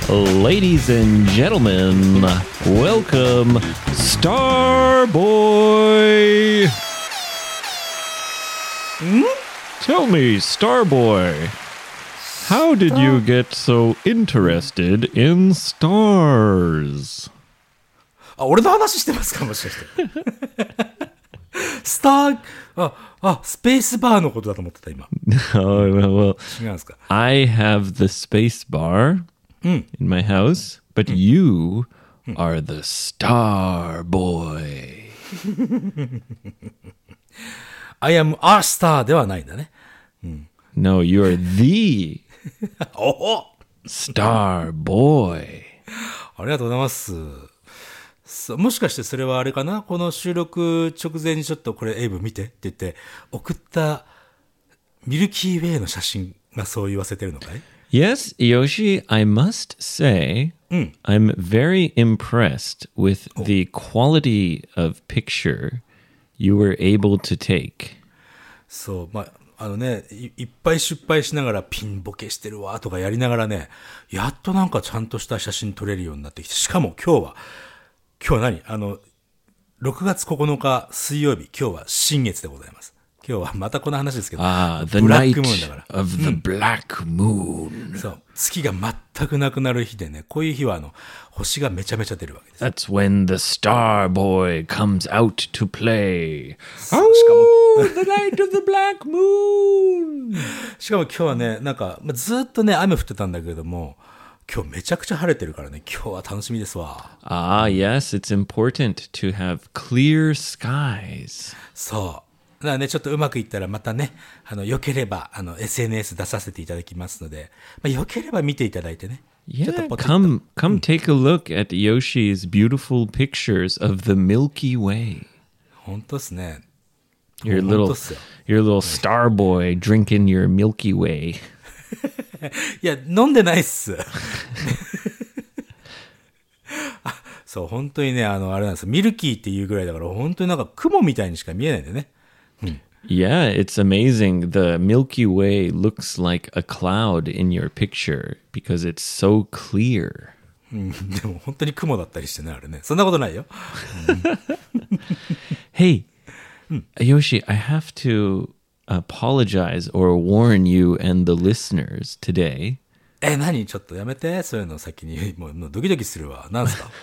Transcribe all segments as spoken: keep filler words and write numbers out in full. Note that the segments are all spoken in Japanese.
Ladies and gentlemen, welcome Starboy. Hmm? Tell me, Starboy, how did you get so interested in stars? あ、俺の話してますかもしかして。スター、あ、あ、スペースバーのことだと思ってた、今。 Oh, well, 違うんですか。 I have the space bar in my house, but you are the star boy. I am a star ではないんだね。 No, you're the おお star boy. ありがとうございます。そう、もしかしてそれはあれかな、この収録直前にちょっとこれエイブ見てって言って送ったミルキーウェイの写真がそう言わせてるのかい？ Yes, Yoshi, I must say, I'm very impressed with the quality of picture you were able to take. そう、まあ、あのねい、いっぱい失敗しながらピンボケしてるわとかやりながらね、やっとなんかちゃんとした写真撮れるようになってきて、しかも今日は、今日は何あの、ろくがつここのか水曜日、今日は新月でございます。今日はまたこの話ですけど、 Ah, the ブラッ night クムーンだから。 of the black moon. そう、月が全くなくなる日でね、こういう日はあの、星がめちゃめちゃ出るわけです。 That's when the star boy comes out to play. そうしかも Oh, the night of the black moon. しかも今日はね、なんか、まあ、ずっとね、雨降ってたんだけれども、今日めちゃくちゃ晴れてるからね、今日は楽しみですわ。 Ah, yes, it's important to have clear skies. そう。だからね、ちょっとうまくいったらまたね、あの、良ければ、あの、エスエヌエス 出させていただきますので、まあ、良ければ見ていただいてね。ちょっと Yeah, ポチッと come come take a look at Yoshi's beautiful pictures of the Milky Way. 本当ですね。 Your 本 little 当っすよ。 your little star boy drinking your Milky Way. いや、飲んでないっす。あ、そう、本当にね、あの、あれなんですよ。ミルキーっていうぐらいだから、本当になんか雲みたいにしか見えないんだよね。 Yeah, it's amazing. The Milky Way looks like a cloud in your picture because it's so clear. うんでも本当に雲だったりしてね、あれね。そんなことないよ。 Hey, Yoshi, I have to apologize or warn you and the listeners today. え、何ちょっとやめて。そういうの先に。もう、もうドキドキするわ。なんすか？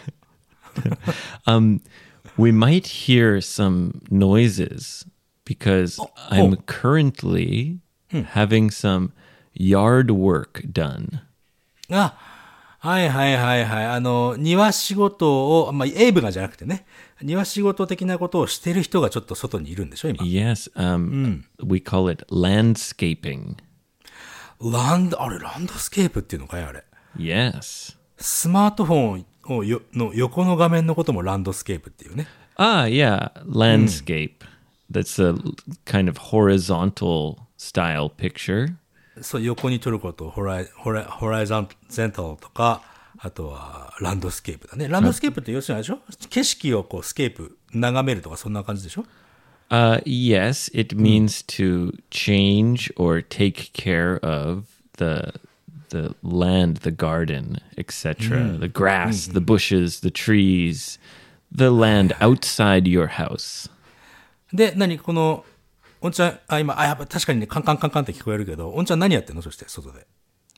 Um, we might hear some noises because I'm currently having some yard work done. あ、はいはいはいはい。あの、庭仕事を、まあ、エイブがじゃなくてね、庭仕事的なことをしてる人がちょっと外にいるんでしょ、今。 Yes, um, we call it landscaping. ランド、あれ、ランドスケープっていうのかいあれ。 Yes. スマートフォンをよの横の画面のこともランドスケープっていうね。 Ah, yeah, landscape. That's a kind of horizontal style picture. そう、横に撮ることをホライ、ホライ、ホライザンゼンタルとか、あとはランドスケープだね。ランドスケープって要するにあれでしょ？景色をこうスケープ眺めるとかそんな感じでしょ？ Uh, yes, it means to change or take care of the the land, the garden, et cetera. The grass, the bushes, the trees, the land outside your house. で、何この、おんちゃん、あ、今、あ、やっぱ確かにね、カンカンカンカンって聞こえるけど、おんちゃん何やってんのそして、外で。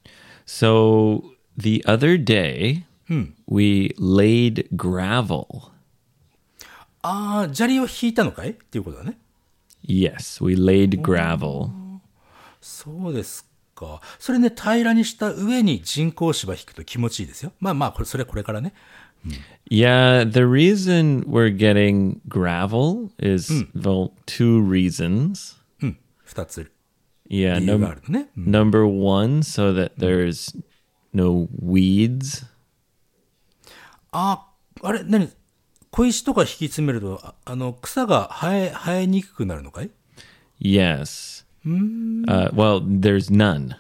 So the other day, we laid gravel. ああ、砂利を引いたのかいっていうことだね。 Yes, we laid gravel. そうですか。それね、平らにした上に人工芝引くと気持ちいいですよ。まあまあ、これ、それはこれからね。 Yeah, the reason we're getting gravel is, well, two reasons. うん、二つ。 Yeah, 理由が num- あるのね。うん number one, so that there's no weeds. あ、あれ、何小石とか引き詰めると、あ、あの、草が生え、生えにくくなるのかい？ Yes. Uh, well, there's none.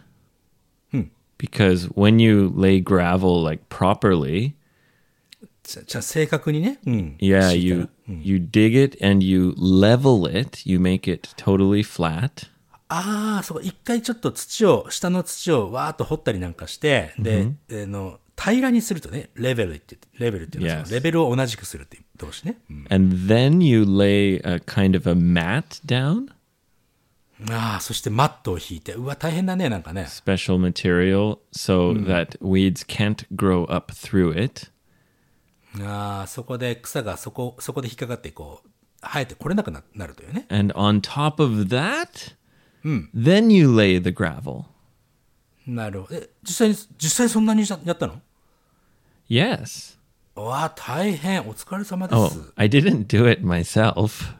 Because when you lay gravel like properly, じゃ、じゃあ正確にね。うん。 yeah, 敷いた you ら you dig it and you level it. You make it totally flat. ああ、そうか。一回ちょっと土を、下の土をわーっと掘ったりなんかして、で、あの、 平らにするとね、レベルって言って、レベルっていうのは Yes. そのレベルを同じくするっていう動詞ね。うん、 And then you lay a kind of a mat down, ああ、そしてマットを引いて、うわ、大変だね、なんかね。 special material, so that weeds can't grow up through it. ああ、そこで草がそこ、そこで引っかかってこう、生えてこれなく な, なるというね。 And on top of that, then you lay the gravel. なるほど。え、実際に、実際そんなにやったの？ Yes. うわ、大変。お疲れ様です。 Oh, I didn't do it myself.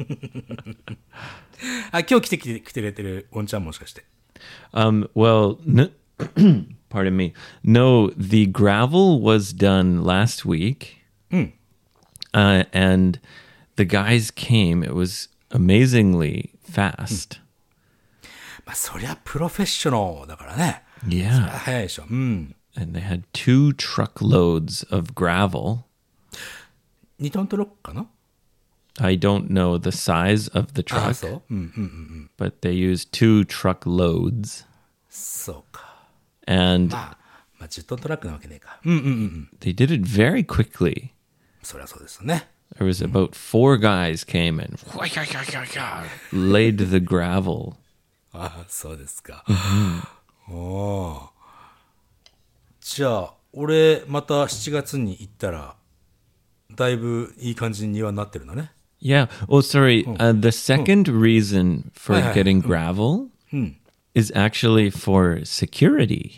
あ、今日来てきて、来てくれてるおんちゃんもしかして。 Um, well, n- pardon me. No, the gravel was done last week. Uh, and the guys came. It was amazingly fast. まあ、そりゃプロフェッショナルだからね。 Yeah. 早いでしょ。うん。 And they had two truckloads of gravel. にトントロックかな？ I don't know the size of the ああ、 truck, そう。うんうんうんうん。 but they used two truckloads. そうか。 And まあ、まあ、じゅっトントラックなわけねえか。うんうんうんうん。 they did it very quickly. そりゃそうですよね。 There was about four guys came and laid the gravel. ああ、そうですか。おお。じゃあ、俺、またしちがつに行ったら、だいぶいい感じに庭になってるのね。 Yeah. Oh, sorry. Uh, the second reason for Hi, hi. getting gravel is actually for security.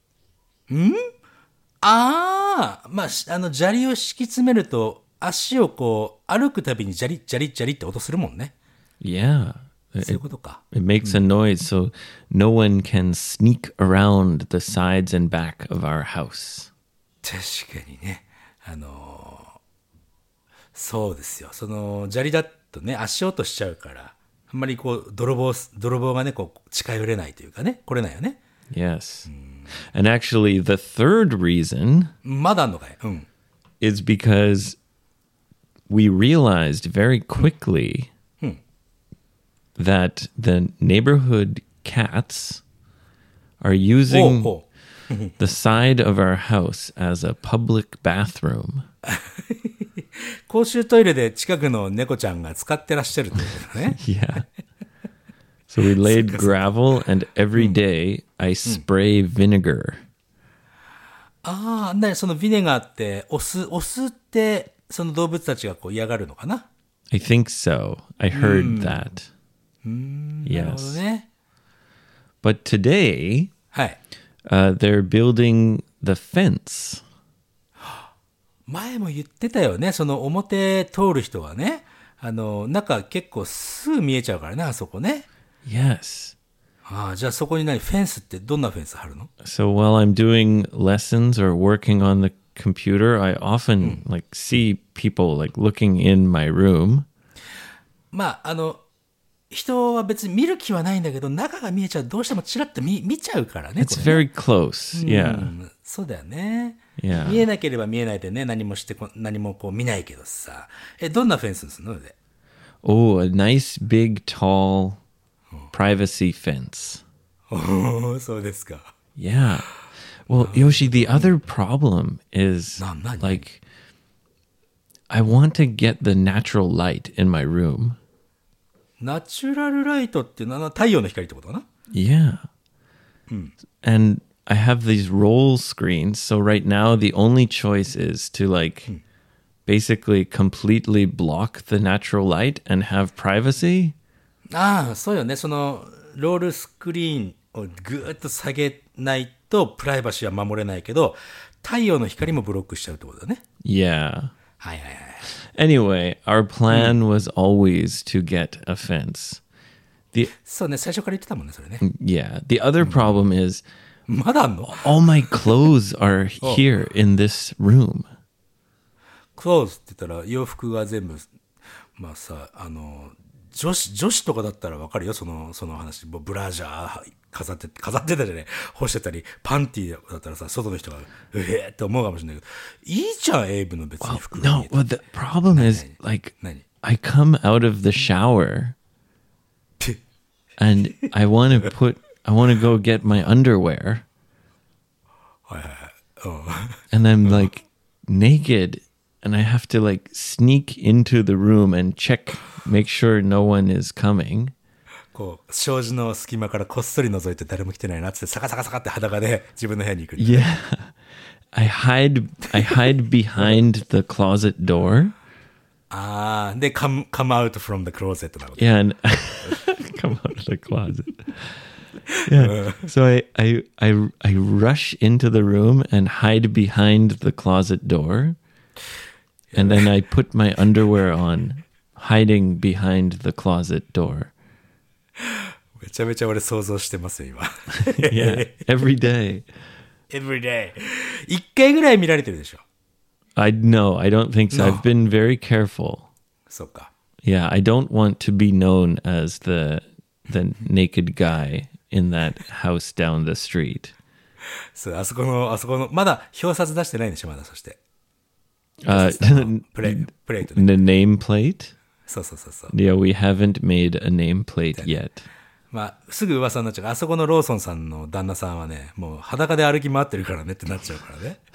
ああ、まあ、しあの、砂利を敷き詰めると、足をこう、歩くたびに砂利、砂利、砂利って音するもんね。 Yeah. そうい It, うことか。 it makes a noise so no one can sneak around the sides and back of our house. 確かにね。あのーそうですよ。その、砂利だとね、足音しちゃうから、あんまりこう、泥棒、泥棒がね、こう、近寄れないというかね、来れないよね。 Yes. And actually, the third reason まだあんのかい？うん。 is because we realized very quickly that the neighborhood cats are ほう using ほう。 the side of our house as a public bathroom. 公衆トイレで近くの猫ちゃんが使ってらっしゃるってことだね。 Yeah. So we laid gravel, and every day I spray vinegar. ああ、なにそのビネガーって、お酢、お酢って、その動物たちがこう嫌がるのかな？ I think so. I heard that. なるほど Yes. ね。 But today, はい。 uh, they're building the fence. 前も言ってたよね。その表通る人はね、あの、中結構すぐ見えちゃうからね、あそこね。 Yes. ああ、じゃあそこに何フェンスってどんなフェンス張るの？ So while I'm doing lessons or working on the computer, I often like see people like looking in my room. まあ、あの、人は別に見る気はないんだけど、中が見えちゃう。どうしてもチラッと見、見ちゃうからね。 It's これね very close. う Yeah. んそうだよね。 Yeah. 見えなければ見えないでね、何もしてこ、何もこう見ないけどさ。え、どんなフェンスにするので？ Oh, a nice big tall privacy fence. おお、そうですか。 Yeah. Well, Yoshi, the other problem is No, not like I want to get the natural light in my room. ナチュラルライトっていうのは太陽の光ってことかな？ Yeah. And I have these roll screens. So right now, the only choice is to like basically completely block the natural light and have privacy. ああ、そうよね。その、ロールスクリーンをぐーっと下げないとプライバシーは守れないけど、太陽の光もブロックしちゃうってことだね。 Yeah. はいはいはい。 Anyway, our plan was always to get a fence. The そうね、最初から言ってたもんね、それね。 yeah, the other problem is まだあんの？ all my clothes are here in this room. クローズって言ったら洋服が全部、まあさ、あの、女子、女子とかだったらわかるよ、その、その話。もうブラジャー飾って、飾ってたじゃね干してたり、パンティーだったらさ、外の人が、うえーって思うかもしれないけど、いいじゃん、エイブの別に服が No, 見えて。 well, the problem is like 何？ I come out of the shower and I want to put, I want to go get my underwear. and I'm like naked and I have to like sneak into the room and check, make sure no one is coming. こう、障子の隙間からこっそり覗いて誰も来てないなっつって、サカサカサカって裸で自分の部屋に行く。 Yeah. I hide, I hide behind the closet door. ああ、で、come, come out from the closet なの。 Yeah, and come out of the closet. Yeah. So I, I, I, I rush into the room and hide behind the closet door. And then I put my underwear on, hiding behind the closet door. めちゃめちゃ俺想像してますよ、今。 Yeah, every day. Every day. 一回ぐらい見られてるでしょ。 I no, I don't think so. No. I've been very careful. そうか。 Yeah, I don't want to be known as the the naked guy in that house down the street. そう、あそこの、あそこの、まだ表札出してないんでしょ、まだ、そして。 Uh, プレイ、プレイトね。 the nameplate? そうそうそうそう。 Yeah, we haven't made a nameplate yet. まあ、すぐ噂になっちゃうから、あそこのローソンさんの旦那さんはね、もう裸で歩き回ってるからねってなっちゃうからね。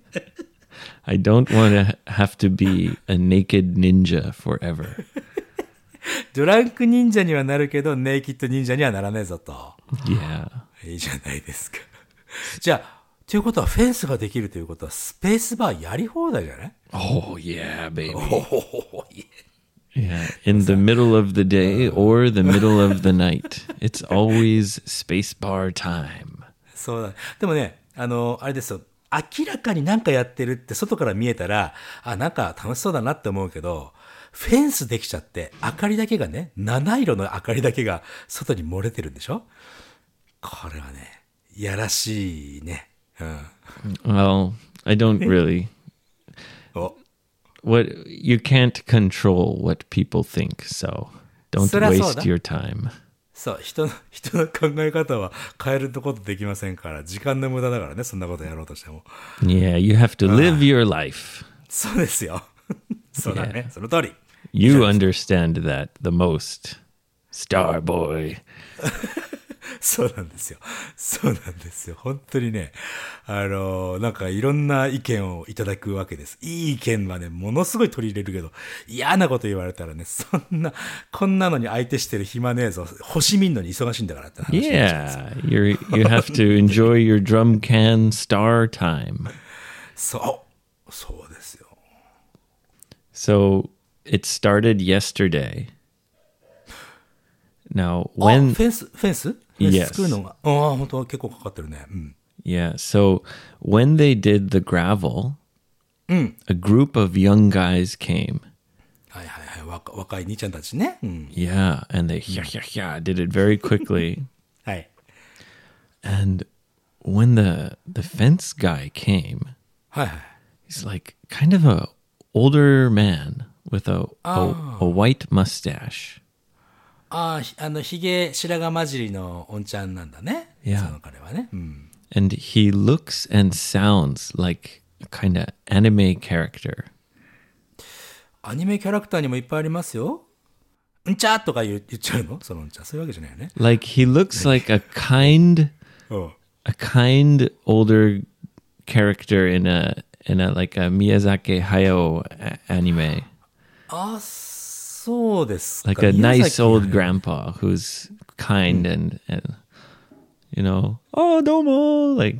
I don't want to have to be a naked ninja forever. ドランク忍者にはなるけど、ネイキッド忍者にはならねえぞと。 Yeah. いいじゃないですか。じゃあ、ということはフェンスができるということは、スペースバーやり放題じゃない？ Oh, yeah, baby. おお、いえ。 Yeah, in the middle of the day or the middle of the night. It's always spacebar time. そうだ。でもね、あの、あれですよ。明らかになんかやってるって外から見えたら、あ、なんか楽しそうだなって思うけど、フェンスできちゃって、明かりだけがね、七色の明かりだけが外に漏れてるんでしょ？これはね、やらしいね。うん。 Well, I don't really. お。 What you can't control what people think, so don't そりゃそうだ。 waste your time. そう、人の、人の考え方は変えることできませんから、時間の無駄だからね、そんなことやろうとしても。 Yeah, you have to live your life. そうですよ。そうだね、その通り。 You understand that the most, Starboy. そうなんですよ。そうなんですよ。本当にね、あの、なんかいろんな意見をいただくわけです。いい意見はね、ものすごい取り入れるけど、嫌なこと言われたらね、そんな、こんなのに相手してる暇ねえぞ。星見んのに忙しいんだからって話になっちゃうんですよ。 Yeah, you're, you have to enjoy your drum can star time. そう、そうですよ。 So it started yesterday. Now, あ、 when フェンス、フェンスフェン Yes. ス作るのが、ああ、本当結構かかってるね。うん。 yeah, so when they did the gravel, a group of young guys came. はいはいはい。若若い兄ちゃんたちね。うん。 Yeah, and they yeah, yeah, yeah, did it very quickly. はい。 And when the the fence guy came, はいはい。 he's like kind of a older man with a a, a white mustache. ああ、ひあの、ひげ白髪混じりのおんちゃんなんだね。 Yeah. その彼はね。うん。 And he looks and sounds like a kind of anime character. アニメキャラクターにもいっぱいありますよ。うんちゃーとか言う言っちゃうのそのうんちゃー。そういうわけじゃないよね。 Like he looks like a kind うん。 a kind older character in a in a like a Miyazaki Hayao a- anime. あ、そうですか。 Like a 宮 nice 崎 old grandpa who's kind and, and you know, oh, domo, like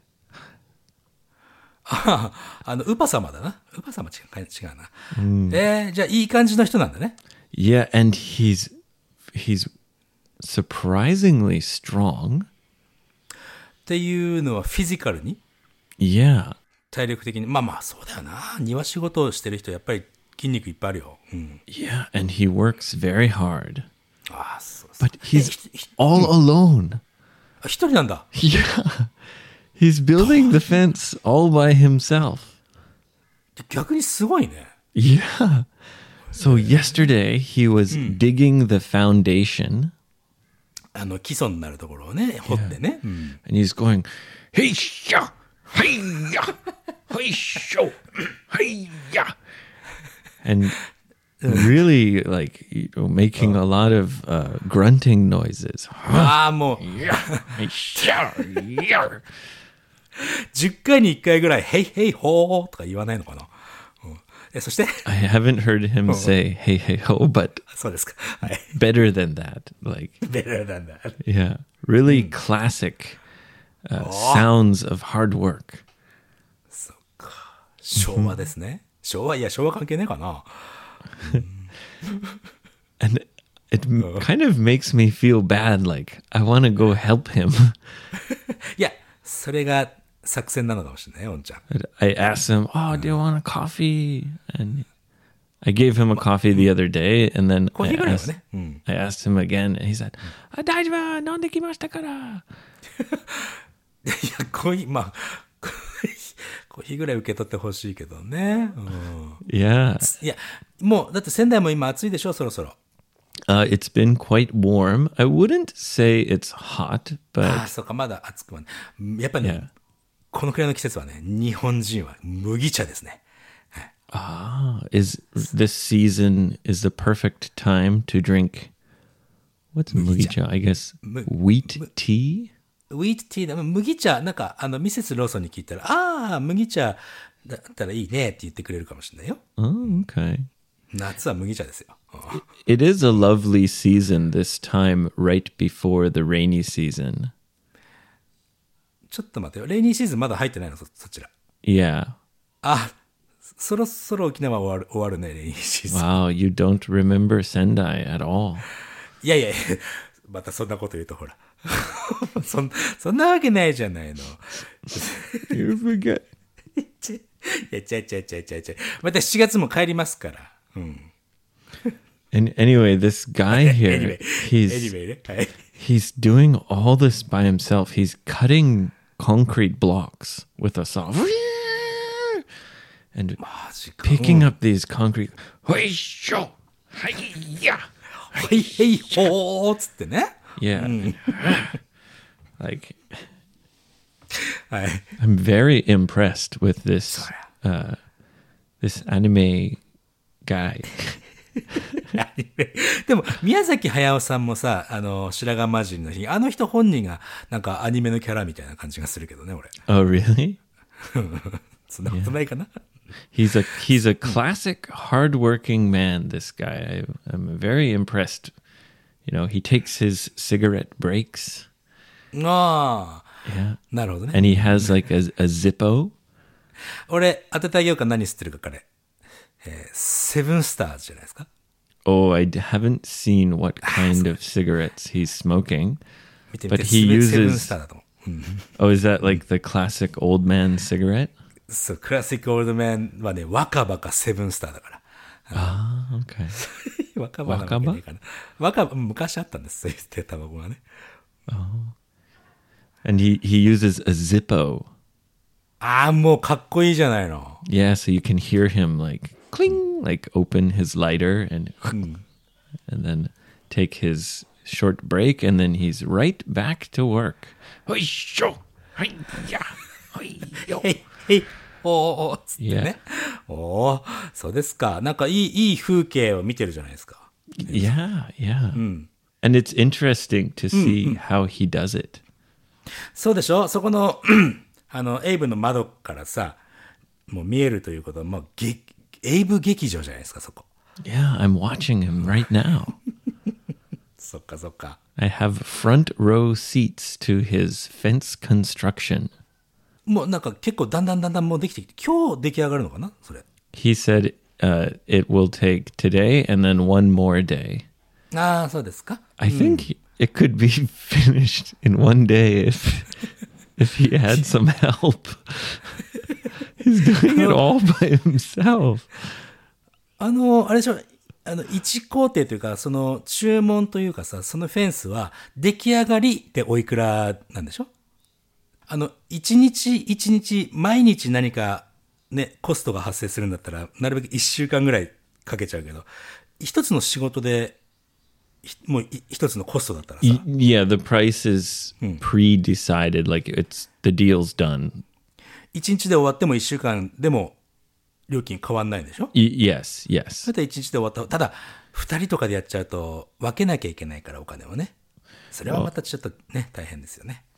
ああの、ウパ様だな。ウパ様違う違うな。えー、じゃあいい感じの人なんだね。 yeah, and he's he's surprisingly strong. っていうのはフィジカルに Yeah. 体力的に。まあまあ、そうだよな。庭仕事をしてる人、やっぱり筋肉いっぱいあるよ。うん。 Yeah, and he works very hard. ああ、そうそう。 But he's えひひ all alone. あ一人なんだ。 Yeah. He's building the fence all by himself. 逆にすごいね。 Yeah. So yesterday he was digging the foundation あの、基礎になるところをね、掘ってね。うん。 and he's going, hey, sha, hey, ya, hey, sho, hey, ya. And really like you know, making a lot of uh, grunting noises. ああ、もう、 Yeah, hey, sha, yeah. じゅっかいにいっかいぐらい、ヘイヘイホーとか言わないのかな、うん、えそして、 I haven't heard him say hey hey ho, but そうですか。はい。 better than that. Like, better than that. yeah, really classic uh, sounds of hard work. そっか。昭和ですね。昭和、いや、昭和関係ねえかな。 And it m- kind of makes me feel bad. Like, I want to go help him. いや、それが作戦なのかもしれないよ、おんちゃん。 But I asked him, "Oh, do you want a coffee?" And I gave him a coffee the other day, and then コー I ヒーぐらいは asked, ね。うん。 I asked him again, and he said, "Ah, 大丈夫、飲んできましたから." いや、コーヒー、まあ、コーヒーぐらい受け取ってほしいけどね。うん、 Yeah. いや、もう、だって仙台も今暑いでしょ、そろそろ。 Uh, it's been quite warm. I wouldn't say it's hot, ああ、 but そうか、まだ暑くはね。やっぱりね、 yeah. このくらいの季節はね、日本人は麦茶ですね。 Ah, is this season is the perfect time to drink? What's mugicha? I guess wheat tea. ウィートティーだ、麦茶、なんか、あの、ミセスローソンに聞いたら、ああ、麦茶だったらいいねって言ってくれるかもしれないよ。 Oh, okay. 夏は麦茶ですよ。うん It is a lovely season this time, right before the rainy season. ちょっと待ってよ。レイニーシーズンまだ入ってないの、そ、そちら。 Yeah. あ、そろそろ沖縄終わる、終わるね、レイニーシーズン。 Wow, you don't remember Sendai at all. いやいやいや、またそんなこと言うとほら。そん、そんなわけないじゃないの。 You forget. ちいや、ちゃいちゃいちゃいちゃいちゃい。またしちがつも帰りますから。うん。 And anyway, this guy here, Anyway, he's anyway ね。はい。 he's doing all this by himself. He's cutting concrete blocks with a saw. And マジか。 picking up these concrete. Hoisho! Hi-ya! はい、へい、ほーっつってね。 Yeah. Like, はい。 I'm very impressed with this uh, this anime guy. でも、宮崎駿さんもさ、あの、白髪魔人の日、あの人本人が、なんかアニメのキャラみたいな感じがするけどね、俺。 Oh, really? そんなことないかな。 He's a he's a classic hardworking man. This guy, I, I'm very impressed. You know, he takes his cigarette breaks. ああ、 Yeah, なるほどね。 and he has like a, a Zippo. 俺、当ててあげようか、何吸ってるか、彼。えーセブンスターズじゃないですか。 Oh, I d- haven't seen what kind of cigarettes he's smoking. 見てみて、 But he セブン uses- スターだと思う。うん、 Oh, is that like the classic old man cigarette? そう、クラシックオールドメンはね、若葉かセブンスターだから。 Ah, okay. 若葉なわけねえかな。若葉、昔あったんです、そういう手タバコがね。 And he he uses a Zippo. ああ、もうかっこいいじゃないの。 Yeah, so you can hear him like cling, like open his lighter and and then take his short break, and then he's right back to work. Hoisho! Hi-ya! Hi-yo! へい、へい、おー、つってね。おー、そうですか。なんかいい、いい風景を見てるじゃないですか。 Yeah, yeah. And it's interesting to see how he does it. そうでしょ、そこの、あの、エイブの窓からさ、もう見えるということは、もう、げエイブ劇場じゃないですか、そこ。 Yeah, I'm watching him right now. そっかそっか。 I have front row seats to his fence construction. もうなんか結構だんだんだんだんもうできてきて、今日出来上がるのかなそれ。 He said uh, it will take today and then one more day. ああ、そうですか。 I think it could be finished in one day if if he had some help. He's doing it all by himself. あの、あれでしょ、あの、一工程というか、その注文というかさ、そのフェンスは出来上がりでおいくらなんでしょ？あの、一日一日、毎日何かね、コストが発生するんだったら、なるべく一週間ぐらいかけちゃうけど、一つの仕事で、ひもうい一つのコストだったらさ、 Y- yeah, the price is pre-decided. Like it's the deal's done. 一日で終わっても一週間でも料金変わんないんでしょ？ Y- yes, そ yes. れで一日で終わった。ただ、二人とかでやっちゃうと分けなきゃいけないからお金をね。それはまたちょっとね、大変ですよね。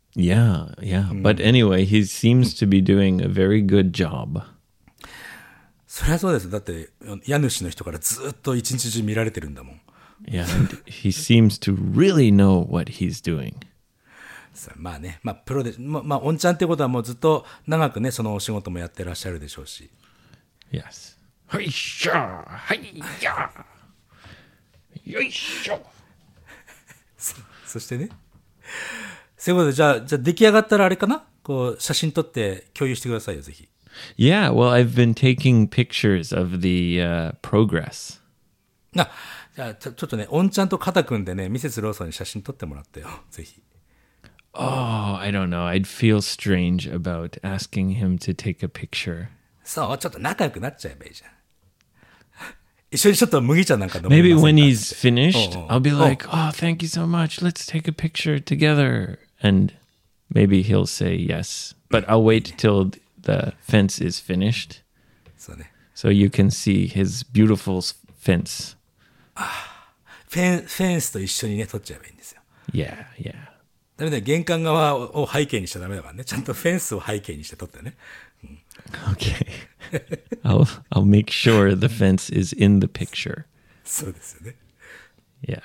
Yeah, yeah. But anyway, he seems to be doing a very good job. そりゃそうです。だって、家主の人からずっと一日中見られてるんだもん。 Yeah, and he seems to really know what he's doing. まあね、まあプロで、まあ、まあ、おんちゃんってことはもうずっと長くね、そのお仕事もやってらっしゃるでしょうし。 Yes. はいしょはいやよいしょそ, そしてね、そういうことで、じゃあ、じゃあ出来上がったらあれかな、こう、写真撮って共有してくださいよ、ぜひ。 Yeah, well, I've been taking pictures of the uh, progress. あ、じゃあちょ、ちょっとね、おんちゃんと肩組んでね、ミセスローソンに写真撮ってもらってよ、ぜひ。 Oh, I don't know. I'd feel strange about asking him to take a picture. そう、ちょっと仲良くなっちゃえばいいじゃん。一緒にちょっと麦茶なんか飲みませんか Maybe when he's finished, Oh, oh. I'll be like, Oh. oh, thank you so much. Let's take a picture together. And maybe he'll say yes. But I'll wait till the fence is finished そうね。 so you can see his beautiful s- fence. フェン、フェンスと一緒にね、撮っちゃえばいいんですよ。 Yeah, yeah. ダメだよ、玄関側を背景にしちゃダメだからね。ちゃんとフェンスを背景にして撮ってね。 Okay. I'll I'll make sure the fence is in the picture. そうですよね。 Yeah.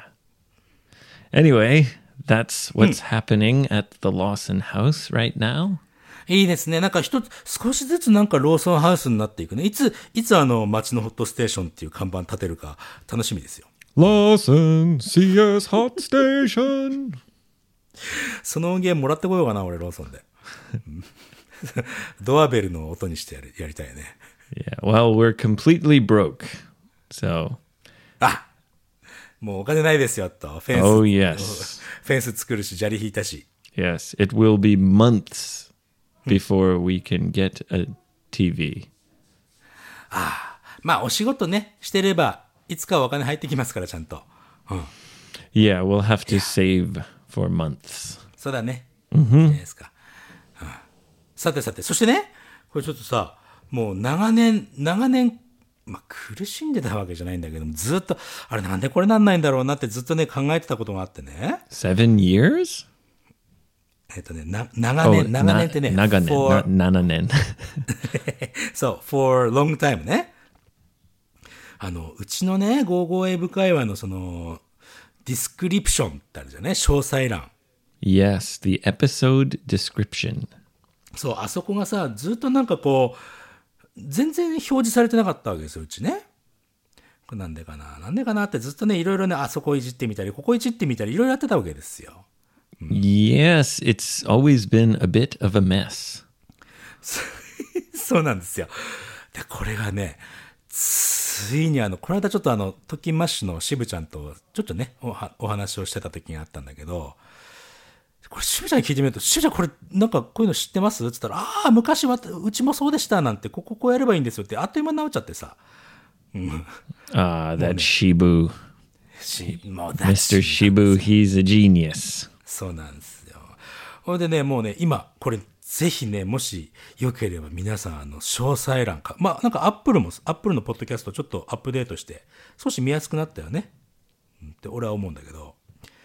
Anyway, that's what's happening at the Lawson house right now. いいですね。なんか一つ、少しずつなんかローソンハウスになっていくね。いつ、いつあの街のホットステーションっていう看板立てるか楽しみですよ。 Lawson C S Hot Station. その音源もらってこようかな、俺ローソンで。ドアベルの音にしてやり、やりたいね。 Yeah, well, we're completely broke. So, あ、もうお金ないですよ、と。フェンス。 oh yes. フェンス作るし、砂利引いたし。 Yes, it will be months before we can get a T V. まあ、お仕事ね、してれば、いつかはお金入ってきますから、ちゃんと。うん。 Yeah, we'll have to save for months. そうだね。いいじゃないですか。うん、さてさて、そしてね、これちょっとさ、もう長年、長年、まあ、苦しんでたわけじゃないんだけども、ずっと、あれなんでこれなんないんだろうなってずっとね、考えてたことがあってね。 Seven years? えっとね、な、長年、長年ってね、 na- naganen, for- not nananen. そう、for long time ね。あの、うちのね、ゴーゴーエイブ会話のその、ディスクリプションってあるじゃんね、詳細欄。 Yes, the episode description. そう、あそこがさ、ずっとなんかこう、全然表示されてなかったわけですよ、うちね。これなんでかな、なんでかなってずっとね、いろいろね、あそこいじってみたり、ここいじってみたり、いろいろやってたわけですよ。 Yes, it's always been a bit of a mess. そうなんですよ。で、これがね、ついにあの、この間ちょっとあの、トキンマッシュの渋ちゃんと、ちょっとね、おはお話をしてた時があったんだけど、これ渋ちゃんに聞いてみると、渋ちゃんこれ、なんかこういうの知ってますって言ったら、ああ、昔は、うちもそうでしたなんて、こここうやればいいんですよって、あっという間に治っちゃってさ。 Ah, that Shibu. しもう Mister Shibu, he's a genius. そうなんですよ。ほんでね、もうね、今、これ、ぜひね、もしよければ皆さん、あの、詳細欄か、まあ、なんかアップルも、アップルのポッドキャストちょっとアップデートして、少し見やすくなったよね。うんって俺は思うんだけど、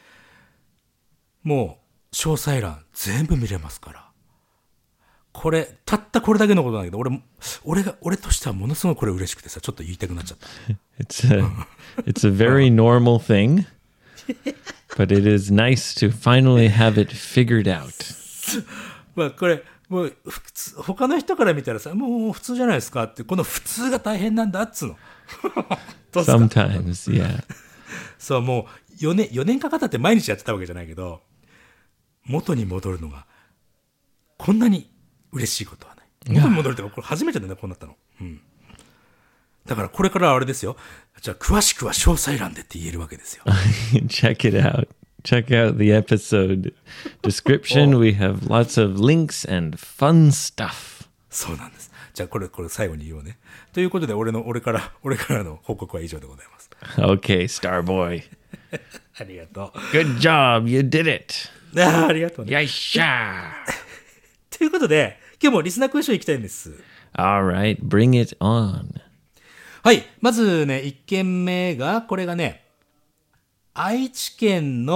もう、詳細欄全部見れますから。これ、たったこれだけのことなんだけど、俺も、俺が、俺としてはものすごいこれ嬉しくてさ、ちょっと言いたくなっちゃった。 It's a, it's a very normal thing, but it is nice to finally have it figured out. まあこれ、もう普通、他の人から見たらさ、もう普通じゃないですかって、この普通が大変なんだっつうの。どうすか Sometimes, yeah. そう、もうよねん、よねんかかったって毎日やってたわけじゃないけど、元に戻るのが、こんなに嬉しいことはない。元に戻るってこれ初めてだね、こうなったの。うん。だからこれからはあれですよ。じゃあ詳しくは詳細欄でって言えるわけですよ。 Check it out. Check out the episode description. We have lots of links and fun stuff. そうなんです。じゃあこれ、これ最後に言おうね。ということで、俺の、俺から、俺からの報告は以上でございます。 Okay, Starboy. ありがとう。 Good job. You did it. ああ、ありがとうね。 Yasha. ということで、今日もリスナークエスチョン行きたいんです。 All right, bring it on. はい。まずね、いっけんめが、これがね、愛知県の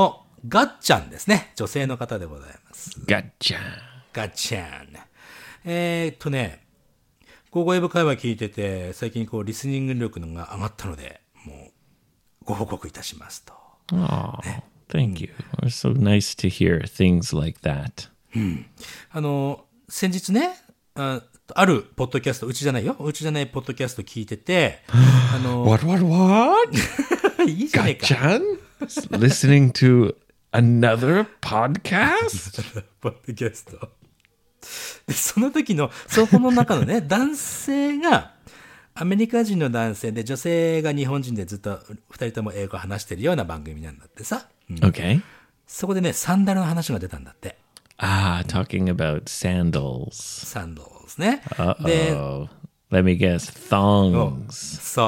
ガッチャンですね。女性の方でございます。 Gotcha. ガッチャン。えーっとね、ゴーゴー英語会話聞いてて、最近こう、リスニング力のが上がったので、もう、ご報告いたしますと。 Oh, thank you. It's so nice to hear things like that. あの、先日ね、ああるポッドキャスト、うちじゃないよ。うちじゃないポッドキャスト聞いてて、あの、 What, what, what? いいじゃねえか。 Gotcha? Listening to another podcast? ポッドキャスト。で、その時の、そこの中のね、男性が、アメリカ人の男性で、女性が日本人でずっと二人とも英語を話してるような番組なんだってさ。うん、 Okay. そこでね、サンダルの話が出たんだって。 Ah, talking about sandals. サンドルですね。で、 Uh-oh. Let me guess. Thongs. そう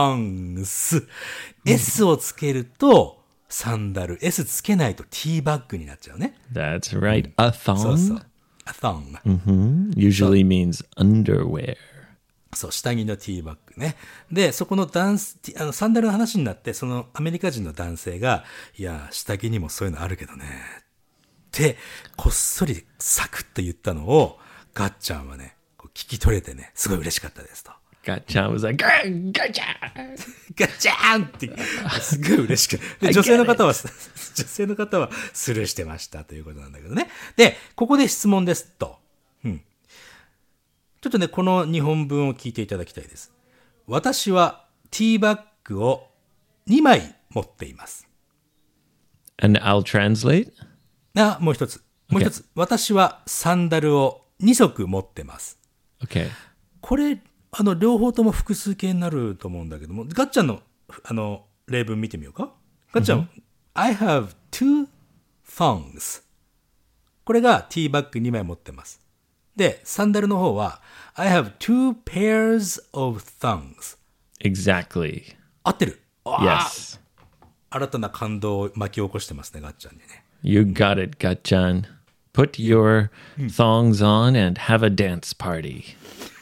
、thongs。S をつけると、サンダル。S つけないとティーバッグになっちゃうね。 That's right. A そうそ thong う。a thong。 hmm usually means underwear. そう、下着のティーバッグね。で、そこのダンス、あの、サンダルの話になって、そのアメリカ人の男性が、いや、下着にもそういうのあるけどね。って、こっそりサクッと言ったのを、ガッチャンはね、こう聞き取れてね、すごい嬉しかったですと。 Gotcha was like, "Gah, gotcha!" ガッチャンって、すごい嬉しくて。で、女性の方は、女性の方はスルーしてましたということなんだけどね。で、ここで質問ですと。うん。ちょっとね、この日本文を聞いていただきたいです。私はティーバッグをにまい持っています。 And I'll translate. あ、もう一つ。もう一つ。私はサンダルをにそく持ってます。 Okay. これ、あの、両方とも複数形になると思うんだけども、ガッチャンの、あの、例文見てみようか。ガッチャン、I have two thongs。これがティーバッグにまい持ってます。で、サンダルの方は、I have two pairs of thongs。 Exactly. 合ってる。 Yes. 新たな感動を巻き起こしてますね、ガッチャンにね。 You got it, Gachan. Put your thongs on and have a dance party.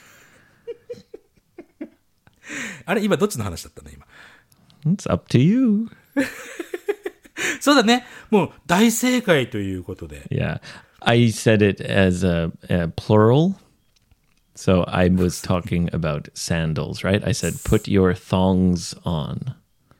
あれ今どっちの話だったの今。 It's up to you. そうだね。もう大正解ということで。 Yeah. I said it as a, a plural. So I was talking about sandals, right? I said, put your thongs on.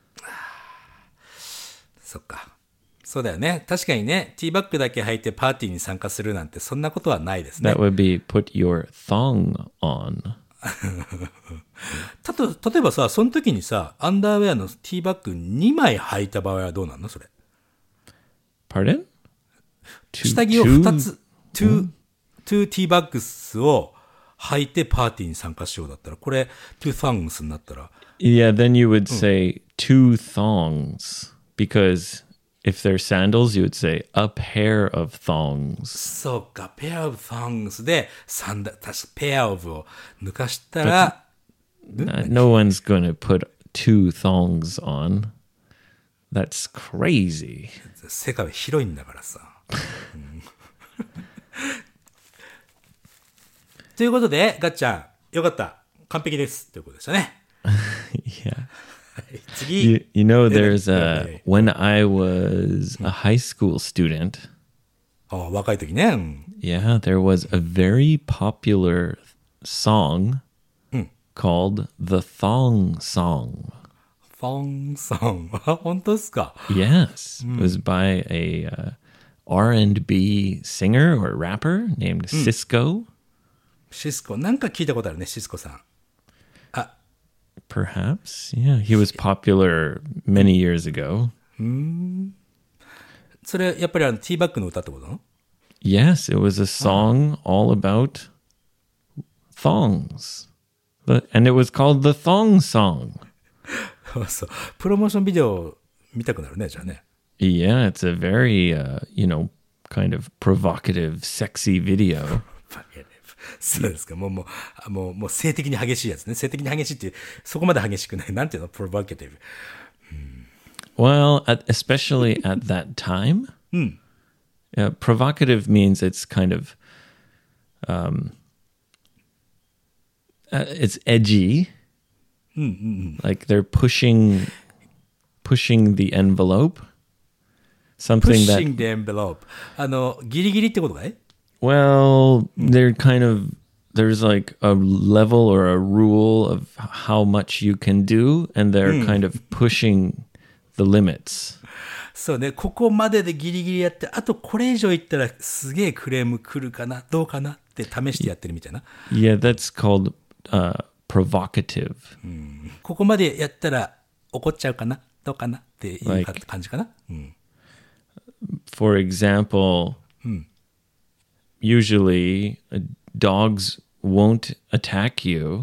そっか。そうだよね。確かにね、ティーバッグだけ履いてパーティーに参加するなんてそんなことはないですね。 That would be put your thong on. たと、例えばさ、その時にさ、アンダーウェアのティーバッグにまい履いた場合はどうなのそれ。 Pardon? Two- 下着を two- ふたつ、トゥー、トゥーティーバッグスを履いてパーティーに参加しようだったら、これ、トゥーサングスになったら、 Yeah, then you would say two thongs. Because if they're sandals, you would say a pair of thongs. そうか、ペアオブサングスで、サンダ、確かペアオブを抜かしたら、 Uh, no one's going to put two thongs on. That's crazy. 世界は広いんだからさ。うん、ということで、ガッチャン、よかった。完璧です。ということでしたね。 Yeah. 次。 You, you know, there's a, when I was a high school student, ああ、若い時ね。うん、 yeah, there was a very popular song called the Thong Song. ファンソン。あ、本当ですか。 Yes. It was by a uh, R and B singer or rapper named Cisco. シスコ。なんか聞いたことあるね、シスコさん。 Perhaps. Yeah, he was popular many years ago. それ、やっぱりあの、ティーバッグの歌ってことなの？ Yes, it was a song all about thongs. The- And it was called the Thong Song. そう。プロモーションビデオ見たくなるね、じゃあね。 Yeah, it's a very, uh, you know, kind of provocative, sexy video. そうですか。もう、もう、もう、もう性的に激しいやつね。性的に激しいって、そこまで激しくない。なんていうの？ provocative。 Well, at, especially at that time, uh, provocative means it's kind of, um, uh, it's edgy. Like they're pushing, pushing the envelope, something that, pushing the envelope. あの、ギリギリってことかい？ well, they're kind of, there's like a level or a rule of how much you can do, and they're kind of pushing the limits. そうね、ここまででギリギリやって、あとこれ以上いったらすげえクレーム来るかな、どうかなって試してやってるみたいな。 Yeah, that's called uh, provocative. ここまでやったら怒っちゃうかな、どうかなっていう Like- 感じかな。うん、 For example, usually uh, dogs won't attack you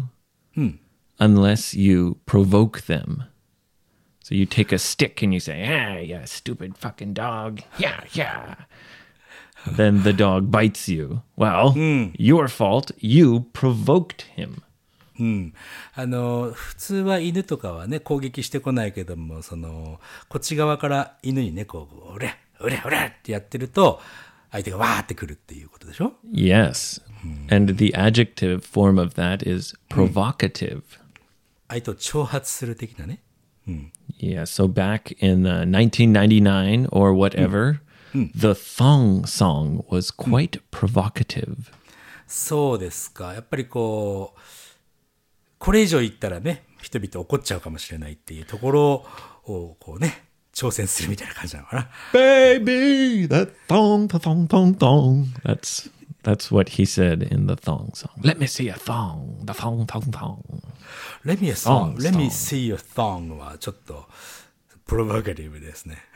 unless you provoke them. So you take a stick and you say, ah, yeah, stupid fucking dog. Yeah, yeah. Then the dog bites you. Well, your fault. You provoked him. うん、あの普通は犬とかはね攻撃してこないけども、そのこっち側から犬にねこううれうれうれってやってると相手がわーってくるっていうことでしょ。 Yes. And the adjective form of that is provocative. 相手を挑発する的なね。 Yeah, so back in uh, nineteen ninety-nine or whatever, the thong song was quite provocative. そうですか。やっぱりこうこれ以上言ったらね人々怒っちゃうかもしれないっていうところをこうね挑戦するみたいな感じなのかな。 Baby, that thong, the thong, thong, thong. That's that's what he said in the thong song. Let me see a thong, the thong, thong, thong. Let me, a song. Thong, Let me thong. see your thong はちょっとプロボカティブですね。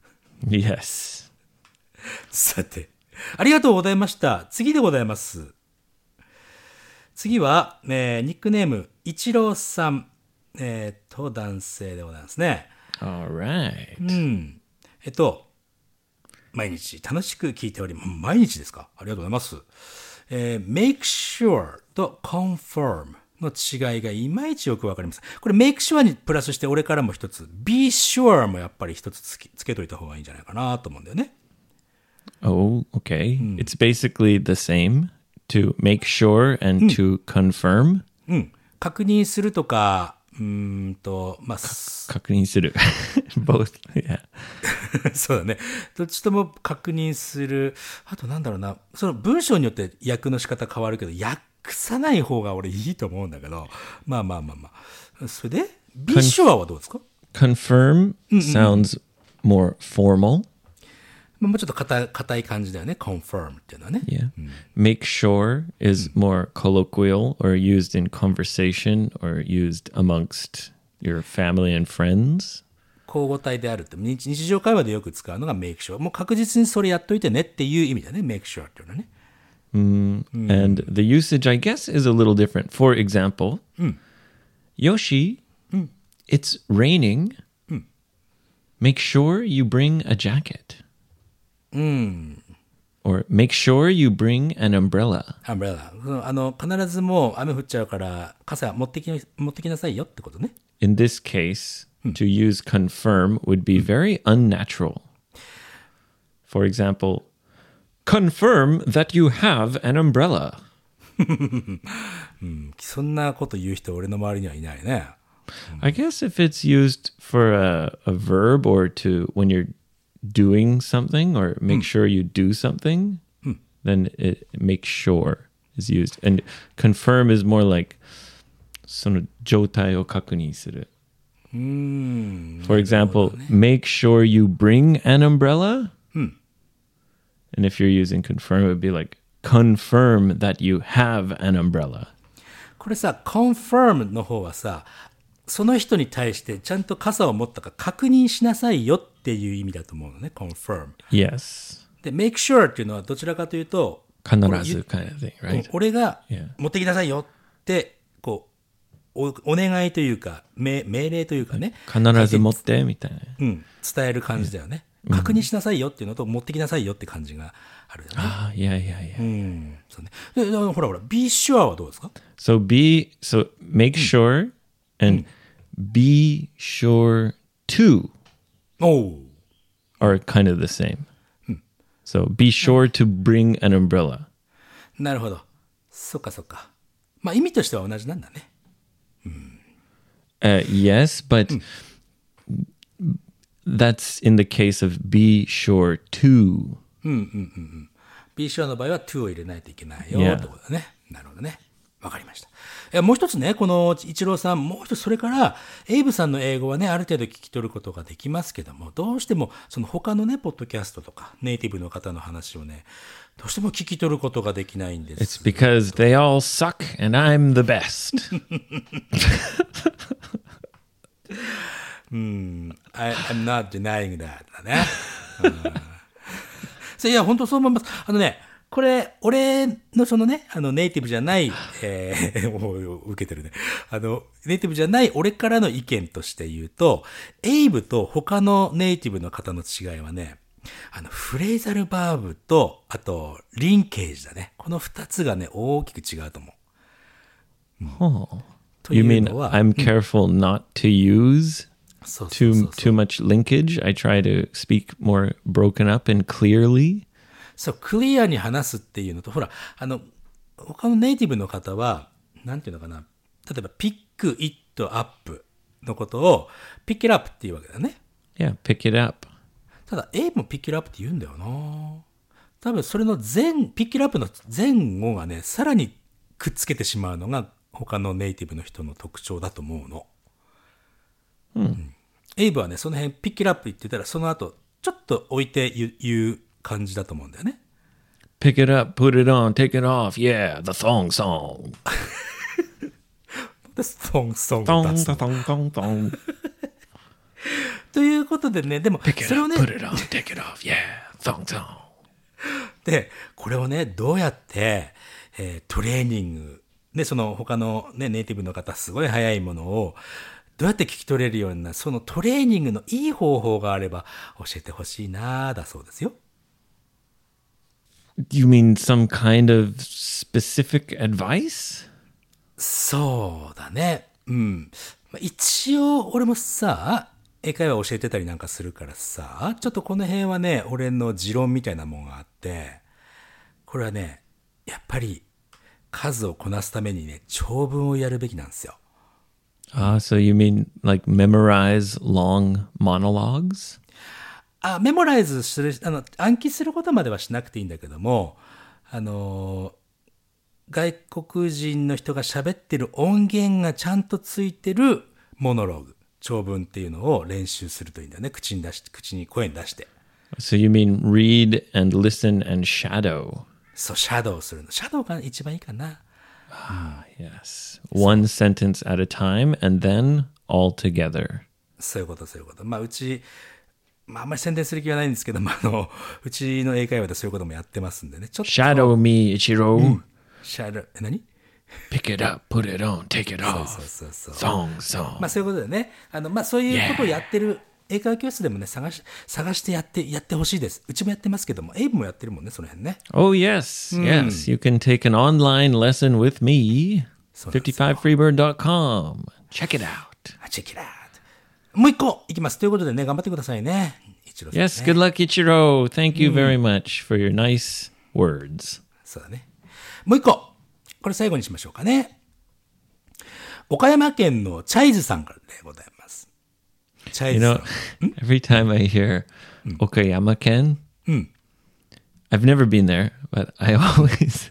Yes. さて、ありがとうございました。次でございます。次は、えー、ニックネーム、イチローさん、えー、と、男性でございますね。 All right. うん。えっと、毎日楽しく聞いております。毎日ですか？ありがとうございます。えー、make sure と confirm の違いがいまいちよくわかります。これ make sure にプラスして俺からも一つ、be sure もやっぱり一つつけ、つけといた方がいいんじゃないかなと思うんだよね。 Oh, okay. It's basically the same to make sure and to confirm. うん。確認するとか、うーんと、まあ、 確認する Both. Yeah. そうだね。どっちとも確認する。あとなんだろうな。その文章によって訳の仕方変わるけど、訳さない方が俺いいと思うんだけど。まあまあまあまあ。それで、be sure はどうですか？ Confirm sounds more formal. まあもうちょっと硬い、硬い感じだよね。confirm っていうのはね。 Yeah. Make sure is more colloquial or used in conversation or used amongst your family and friends. 交互体であるって、日日常会話でよく使うのが make sure。もう確実にそれやっといてねっていう意味だね。make sure っていうのはね。 And the usage, I guess, is a little different. For example, Yoshi, it's raining. Make sure you bring a jacket. Or make sure you bring an umbrella. アンブレラ。あの、必ずもう雨降っちゃうから、傘持ってきな、持ってきなさいよってことね。 In this case, to use confirm would be very unnatural. For example, confirm that you have an umbrella. そんなこと言う人俺の周りにはいないね。 I guess if it's used for a, a verb or to when you're doing something or make sure you do something, then it make sure is used. And confirm is more like その状態を確認する. For example, make sure you bring an umbrella. And if you're using confirm, it would be like confirm that you have an umbrella. これさ、confirm の方はさ、その人に対してちゃんと傘を持ったか確認しなさいよっていう意味だと思うのね、confirm。 Yes. で、make sure っていうのはどちらかというと、 必ず kind of thing, right? 俺が Yeah. 持ってきなさいよって、こう、お、お願いというか、命、命令というかね。 必ず持ってみたいな。 うん、伝える感じだよね。確認しなさいよっていうのと、持ってきなさいよって感じがあるよね。 ああ、yeah, yeah, yeah. うん、そうね。で、でほらほら、be sure はどうですか？ So be, so make sure and be sure to おう。 are kind of the same. So be sure to bring an umbrella. なるほど。そっかそっか。まあ意味としては同じなんだね。 Uh, yes, but that's in the case of be sure to. be sure の場合は to を入れないといけないよ、 Yeah. ってことだね。なるほどね。わかりました。えもう一つね、この一郎さん、もう一つそれから、エイブさんの英語はね、ある程度聞き取ることができますけども、どうしても、その他のね、ポッドキャストとか、ネイティブの方の話をね、どうしても聞き取ることができないんで It's す。 because they all suck and I'm the best. I, I'm not denying that だね。そういや、本当そう思います。あのね、これ、俺のそのね、あの、ネイティブじゃない、えー、もう受けてるね。あの、ネイティブじゃない俺からの意見として言うと、エイブと他のネイティブの方の違いはね、あの、フレーザルバーブと、あと、リンケージだね。この二つがね、大きく違うと思う。 Oh. と You いう mean のは、 I'm careful not to use そうそう too そうそう too much linkage? I try to speak more broken up and clearly? そう、クリアに話すっていうのと、ほら、あの、他のネイティブの方は、なんていうのかな。例えば、ピック、イット、アップのことを、ピックアップっていうわけだね。 Yeah, pick it up. ただ、エイブもピックアップって言うんだよな。多分、それの前、ピックアップの前後がね、さらにくっつけてしまうのが、他のネイティブの人の特徴だと思うの。うん。エイブはね、その辺、ピックアップ言ってたら、その後、ちょっと置いて言う、言う感じだと思うんだよね。 Pick it up, put it on, take it off. Yeah, the thong song. で、ソンソンを Thong, 出す thong, thong, thong. ということでね、でも、 Pick it それを up, ね、 put it on, take it off. Yeah, thong, thong. で、これをね、どうやって、えートレーニング、ね、その他のね、ネイティブの方、すごい早いものを、どうやって聞き取れるような、そのトレーニングのいい方法があれば、教えてほしいな、だそうですよ。 You mean some kind of specific advice? そうだね。うん。まあ一応、俺もさ、英会話教えてたりなんかするからさ、ちょっとこの辺はね、俺の持論みたいなもんがあって、これはね、やっぱり数をこなすためにね、長文をやるべきなんですよ。 Ah, so you mean like memorize long monologues? あ、メモライズする、あの、暗記することまではしなくていいんだけども、あの、外国人の人が喋ってる音源がちゃんとついてるモノローグ、長文っていうのを練習するといいんだよね。口に出して、口に声に出して。 So you mean read and listen and shadow? そう、シャドウするの。シャドウが一番いいかな。 Ah, yes. One sentence at a time and then all together. そういうこと、そういうこと。まあ、うち、まあ、あんまり宣伝する気はないんですけども、あの、うちの英会話でそういうこともやってますんでね。ちょっと。 Shadow me, Ichiro. シャドウ、え、何 Pick it up, put it on, take it そう off. そうそう。 Song, song. まあそういうことでね、あの、まあそういうことをやってる英会話教室でもね、探し、探してやって、やってほしいです。うちもやってますけども、エイブもやってるもんね、その辺ね。 Oh, yes, yes. You can take an online lesson with me. そうなんですよ。 fifty-five free bird dot com. Check it out. あ、チェキラート。もう一個いきます。ということでね、頑張ってくださいね。一郎さんね。 Yes, good luck, Ichiro. Thank you very much for your nice words. そうだね。もう一個。これ最後にしましょうかね。岡山県のチャイズさんからでございます。チャイ You ズさ know, ん。 every time I hear Okayama-ken, I've never been there, but I always,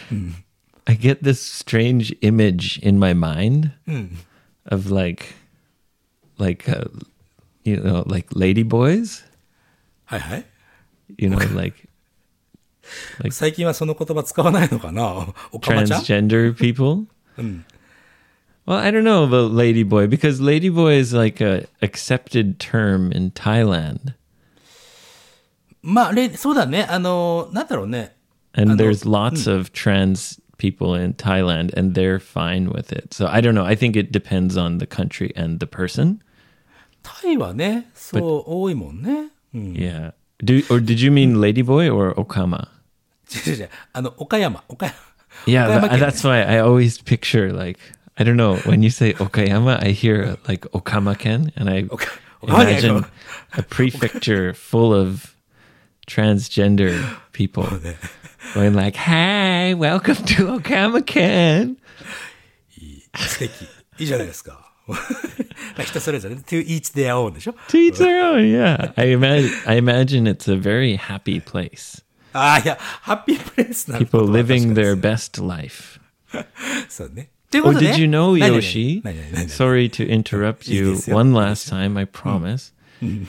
I get this strange image in my mind of like, like, uh, you know, like ladyboys, はいはい。 you know, like 最近はその言葉使わないのかな、おかまちゃん transgender people. Well, I don't know about ladyboy because ladyboy is like a accepted term in Thailand. まあ、れそうだね。あの、なんだろうね。 And there's lots of trans people in Thailand and they're fine with it. So I don't know. I think it depends on the country and the person. タイはね、そう多いもんね。うん。 Yeah. Do or did you mean ladyboy or Okama? 違う違う。あの、岡山、岡山。 Yeah, 岡山 tha- 県ね that's why I always picture like I don't know, when you say Okayama, I hear like Okama-ken and I Oka- Okama-ken. imagine a prefecture full of transgender people going like, "Hey, welcome to Okama-ken." 素敵。いいじゃないですか。 人それぞれ、to each their own でしょ To each their own, yeah. I imagine, I imagine it's a very happy place. ああ、いや、ハッピープレイスなの People living their best life. そうね。という Oh, ことで。 did you know, 何々 Yoshi? 何々何々 Sorry to interrupt いい you ですよ。 one last time, I promise. 何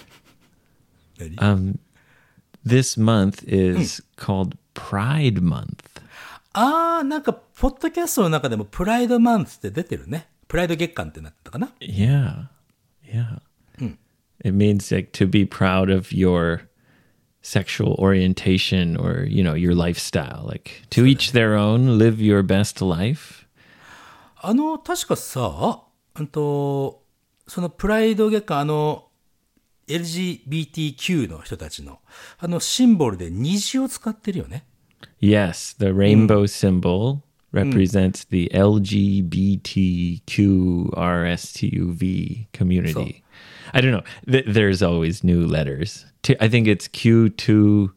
Um, this month is called Pride Month. ああ、なんか、ポッドキャストの中でもプライドマンスって出てるね。プライド月間ってなってたかな Yeah, yeah. It means like to be proud of your sexual orientation or, you know, your lifestyle. Like to each their own, live your best life. あの、確かさ、うんと、そのプライド月間、あの、エルジービーティーキュー の人たちの、あの、シンボルで虹を使ってるよね。 Yes, the rainbow symbol represents the L G B T Q R S T U V community. I don't know. Th- there's always new letters. T- I think it's Q two.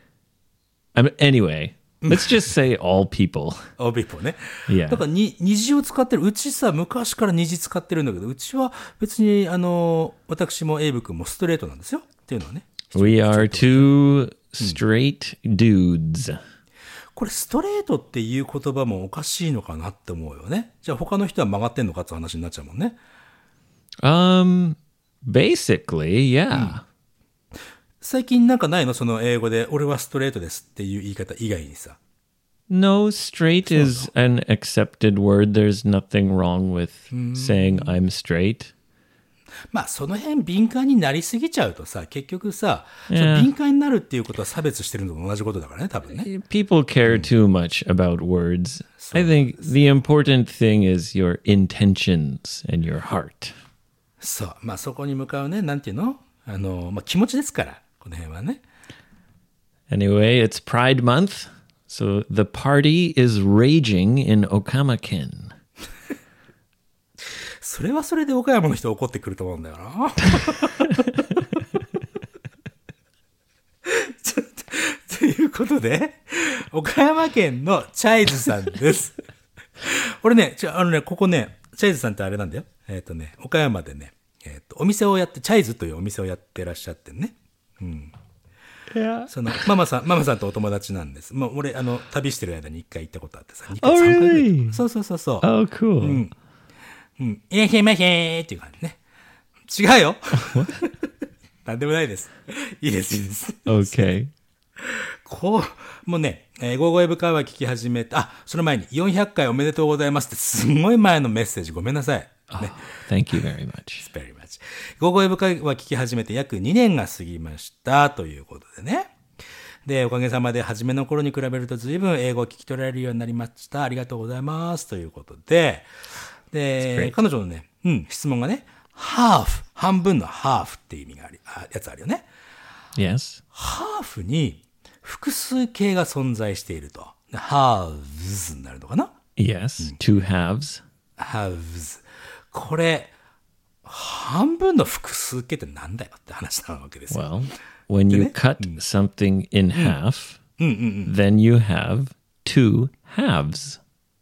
I mean, anyway, let's just say all people. all people ね。 Yeah. だからに、虹を使ってる。うちさ、昔から虹使ってるんだけど、うちは別に、あの、私もエイブ君もストレートなんですよ。っていうのはね。 We are two straight dudes. これストレートっていう言葉もおかしいのかなって思うよね。じゃあ他の人は曲がってんのかって話になっちゃうもんね。 Um, basically, yeah. 最近なんかないのその英語で俺はストレートですっていう言い方以外にさ。 No, straight is an accepted word. There's nothing wrong with saying I'm straight. まあその辺敏感になりすぎちゃうとさ、結局さ、 Yeah. その敏感になるっていうことは差別してるのと同じことだからね、多分ね。 People care too much about words. I think the important thing is your intentions and your heart. そう。まあそこに向かうね、なんていうのあの、まあ気持ちですから、この辺はね。 Anyway, it's Pride Month, so the party is raging in Okamaken. それはそれで岡山の人怒ってくると思うんだよな。ちょっとということで、岡山県のチャイズさんです。俺ね、ちょ、あのね、ここね、チャイズさんってあれなんだよ。えっとね、岡山でね、えっと、お店をやって、チャイズというお店をやってらっしゃってね。うん。 Yeah. その、ママさん、ママさんとお友達なんです。まあ、俺、あの、旅してる間に一回行ったことあってさ、二回、 Oh, 三回ぐらい really? そうそうそうそう。 Oh, cool. うん。いらっしゃいませーっていう感じね。違うよ。なんでもないです。いいです、いいです。 Okay. こう、もうね、えー、ゴーゴーエブ会話聞き始めた、あ、その前によんひゃっかいおめでとうございますってすんごい前のメッセージごめんなさい。ね。 Oh, thank you very much. very much. ゴーゴーエブ会話聞き始めて約にねんが過ぎましたということでね。で、おかげさまで初めの頃に比べると随分英語を聞き取られるようになりました。ありがとうございますということで、で、彼女のね、うん、質問がね、ハーフ、半分のハーフっていう意味があり、あやつあるよね。 Yes. ハーフに複数形が存在していると。halves になるのかな？ Yes. Two halves. halves。これ、半分の複数形ってなんだよって話なわけですよ。 Well, when you cut something in half, then you have two halves.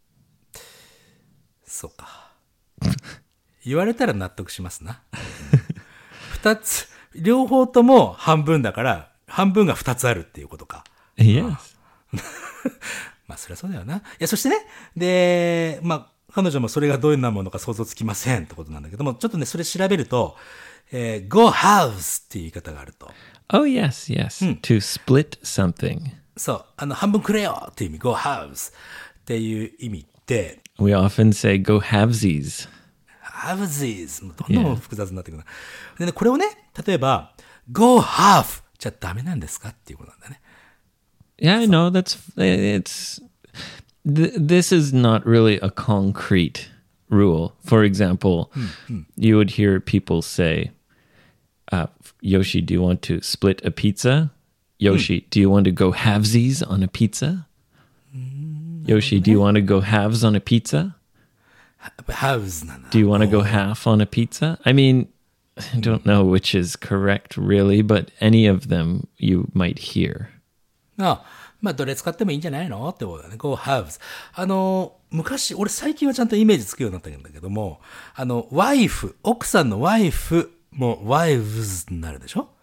そうか。言われたら納得しますな。二つ、両方とも半分だから、半分が二つあるっていうことか。 Yes. まあ、そりゃそうだよな。いや、そしてね、で、まあ、彼女もそれがどういうものか想像つきませんってことなんだけども、ちょっとね、それ調べると、えー、go halves っていう言い方があると。 Oh, yes, yes. To split something. そう、あの、半分くれよっていう意味、go halves っていう意味で、 We often say go halvesies. halvesies もうどんどん複雑になってくるな。でね、これをね、例えば、go half じゃダメなんですかっていうことなんだね。 Yeah, I know. That's it's. Th- this is not really a concrete rule. For example, you would hear people say, uh, "Yoshi, do you want to split a pizza? Yoshi, do you want to go halvesies on a pizza? Yoshi, do you want to go halves on a pizza? halves なんだ。 Do you want to go half on a pizza?" I mean, I don't know which is correct really, but any of them you might hear. あ、 まあ、どれ使ってもいいんじゃないのってことだね。go haves。あの、昔、俺最近はちゃんとイメージつくようになったんだけども、あの、wife、奥さんの wife も wives になるでしょ？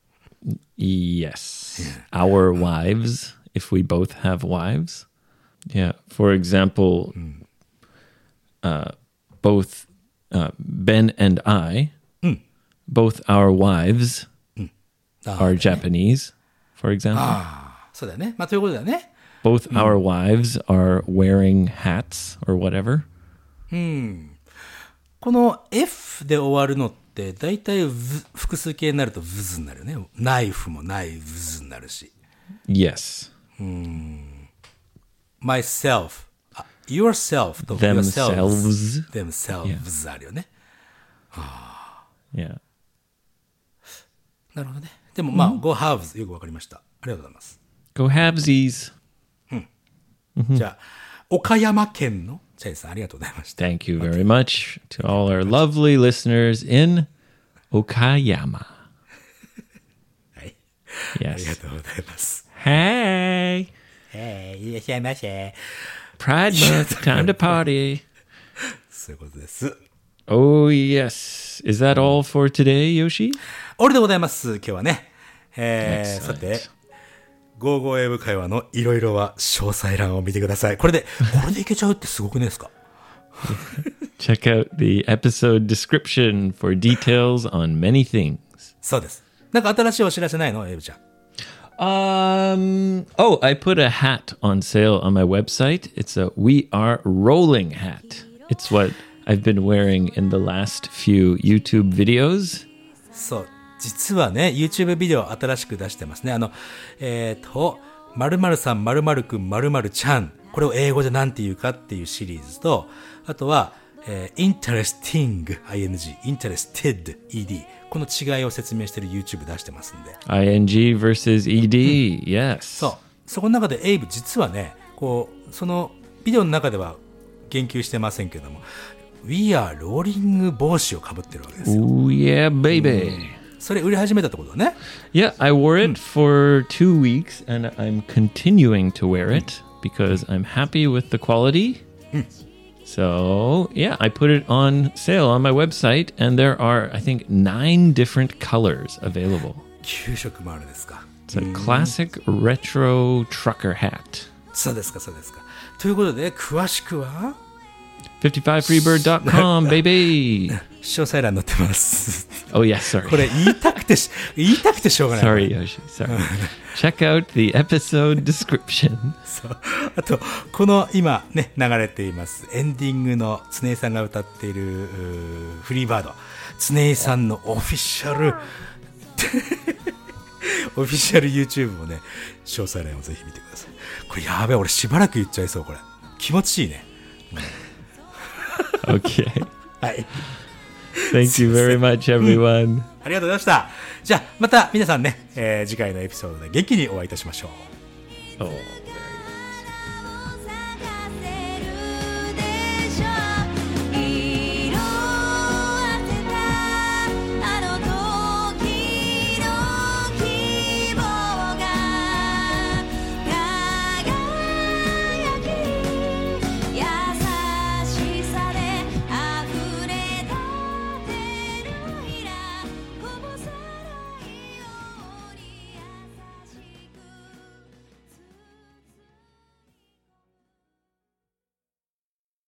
Yes. Our wives, if we both have wives. Yeah. For example, uh, both uh, Ben and I, both our wives are Japanese, for example. そうだよね。まあ、ということだよね。 Both our wives are wearing hats or whatever. この F で終わるのって、だいたい複数形になると vs になるよね。ナイフもナイフズになるし。 Yes. myself, yourself と Themselves. themselves あるよね。 Yeah. なるほどね。でもまあ、go haves よくわかりました。ありがとうございます。 Go halvesies. じゃあ、岡山県のチャイさんありがとうございました。 Thank you very much to all our lovely listeners in Okayama. はい。ありが Yes. とうございます。 Hey, えー、いらっしゃいませ。 Pride Month, time to party. そういうことです。 Oh, yes. Is that all for today, Yoshi? 俺でございます。今日はね。えー、 Excellent. さて、ゴーゴー英語会話のいろいろは詳細欄を見てください。これで、これでいけちゃうってすごくねですか？ Check out the episode description for details on many things. そうです。なんか新しいお知らせないの？エイブちゃん。 Um. Oh, I put a hat on sale on my website. It's a We Are Rolling hat. It's what I've been wearing in the last few YouTube videos. そう。実はね、YouTube ビデオ新しく出してますね。あの、えっと、〇〇さん、〇〇くん、〇〇ちゃん。これを英語でなんて言うかっていうシリーズと、あとは、えー、interesting, ing, interested, ed。この違いを説明してる YouTube 出してますんで。 ing versus ed. Yes. そう。そこの中でエイブ実はね、こう、そのビデオの中では言及してませんけども、We are rolling 帽子をかぶってるわけですよ。 Oh, yeah, baby. それ売り始めたってことだね。 Yeah, I wore it for two weeks and I'm continuing to wear it because I'm happy with the quality. So, yeah, I put it on sale on my website and there are, I think, nine different colors available. きゅう色もあるんですか。 It's a classic retro trucker hat. そうですか、そうですか。ということで、詳しくはフィフティファイフリーバード ドットコム baby. 詳細欄載ってます。 Oh, yes, sorry. これ言いたくてし、言いたくてしょうがない。 Sorry, Yoshi. Sorry. Check out the episode description. そう。あと、この今ね、流れています、エンディングの常井さんが歌っているフリーバード。常井さんのオフィシャル、オフィシャル YouTube もね、詳細欄をぜひ見てください。これやべえ、俺しばらく言っちゃいそう、これ。気持ちいいね。 Okay. はい。 Thank you very much, everyone. ありがとうございました。じゃあ、また皆さんね、えー、次回のエピソードで元気にお会いいたしましょう。 Oh.